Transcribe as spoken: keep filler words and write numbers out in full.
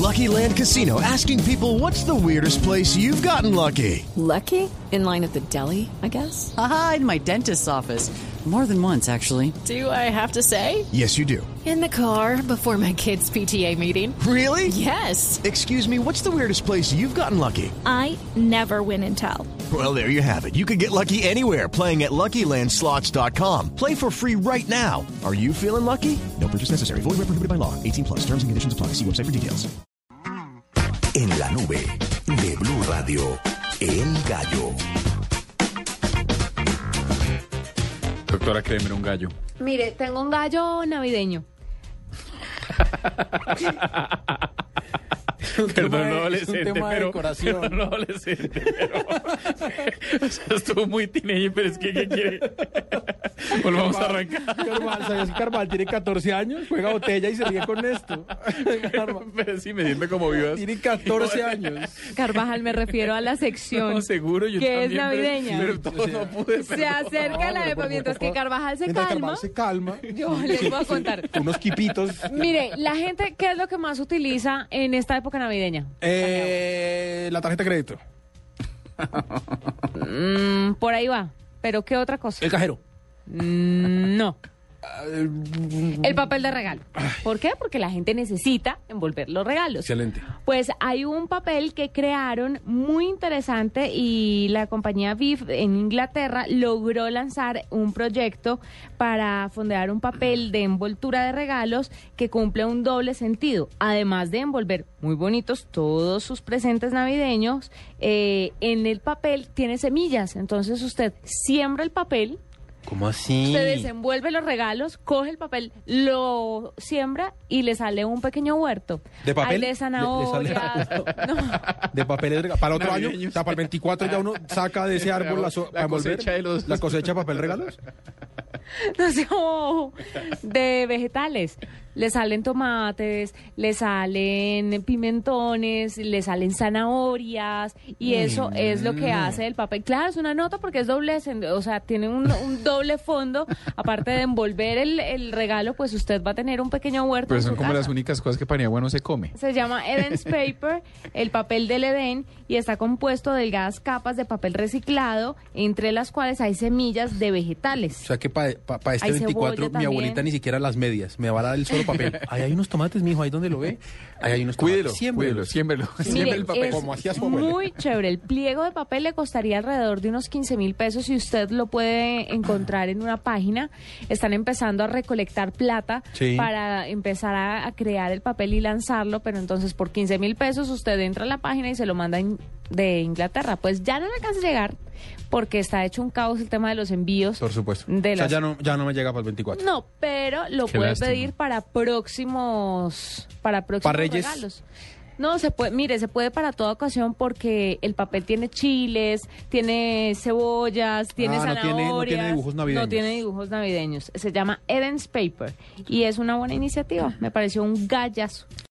Lucky Land Casino, asking people, what's the weirdest place you've gotten lucky? Lucky? In line at the deli, I guess? Aha, in my dentist's office. More than once, actually. Do I have to say? Yes, you do. In the car before my kids' P T A meeting. Really? Yes. Excuse me, what's the weirdest place you've gotten lucky? I never win and tell. Well, there you have it. You can get lucky anywhere, playing at Lucky Land Slots dot com. Play for free right now. Are you feeling lucky? No purchase necessary. Void where prohibited by law. eighteen plus. Terms and conditions apply. See website for details. En la nube de Blue Radio, El Gallo. Doctora, créeme, un gallo. Mire, tengo un gallo navideño. Perdón, no adolescente, tema de pero, decoración. pero no adolescente, pero, o sea, estuvo muy teenager, pero es que, ¿qué quiere? Volvamos a arrancar. Carval, ¿sabías que Carval tiene catorce años? Juega botella y se ríe con esto. Pero sí, me siento como vivas. Tiene catorce años. Carvajal, me refiero a la sección No, seguro, yo que es también, navideña. Pero, pero todo no pude. Se acerca No, la pero época, por- mientras por- que Carvajal se Mientras calma. Carval se calma. Yo les voy a contar. Unos quipitos. Mire, la gente, ¿qué es lo que más utiliza en esta época navideña? Eh, la tarjeta de crédito. Mm, por ahí va. ¿Pero qué otra cosa? El cajero. Mm, no. El papel de regalo. ¿Por qué? Porque la gente necesita envolver los regalos. Excelente. Pues hay un papel que crearon muy interesante y la compañía Viv en Inglaterra logró lanzar un proyecto para fondear un papel de envoltura de regalos que cumple un doble sentido. Además de envolver muy bonitos todos sus presentes navideños, eh, en el papel tiene semillas. Entonces usted siembra el papel. ¿Cómo así? Usted desenvuelve los regalos, coge el papel, lo siembra y le sale un pequeño huerto. ¿De papel? Hay de Le- le zanahorias. sale- No. De papel de regalo. Para el otro año, Navideños. o sea, para el veinticuatro ya uno saca de ese árbol la, so- La para envolver cosecha de los- la cosecha de papel regalos. No sé, oh, de vegetales. Le salen tomates, le salen pimentones, le salen zanahorias y eso es lo que hace el papel. Claro, es una nota porque es doble, sen- o sea, tiene un, un doble fondo. Aparte de envolver el, el regalo, pues usted va a tener un pequeño huerto Pero en son su como casa. las únicas cosas que para bueno se come. Se llama Eden's Paper, el papel del Edén, y está compuesto de delgadas capas de papel reciclado, entre las cuales hay semillas de vegetales. O sea que para pa, pa este Hay veinticuatro cebolla mi también. abuelita ni siquiera las medias. Me va a dar el solo papel. Ahí hay unos tomates, mijo, ahí donde lo ve. Ahí hay unos tomates. Cuídelo, Siémbrelo. cuídelo, siémbrelo. Mire, Siempre el papel. es Como hacía su abuela. muy chévere. El pliego de papel le costaría alrededor de unos quince mil pesos y usted lo puede encontrar en una página. Están empezando a recolectar plata Sí. para empezar a, a crear el papel y lanzarlo, pero entonces por quince mil pesos usted entra a la página y se lo manda in- de Inglaterra. Pues ya no le alcanza a llegar porque está hecho un caos el tema de los envíos. Por supuesto. De O sea, las- ya no, ya no me llega para el veinticuatro. No, pero lo Qué puede lástima. pedir para próximos para próximos ¿Para Reyes? regalos. No, se puede, mire, se puede para toda ocasión porque el papel tiene chiles, tiene cebollas, tiene Ah, no tiene- zanahorias. no tiene dibujos navideños. No tiene dibujos navideños. Se llama Eden's Paper y es una buena iniciativa. Me pareció un gallazo.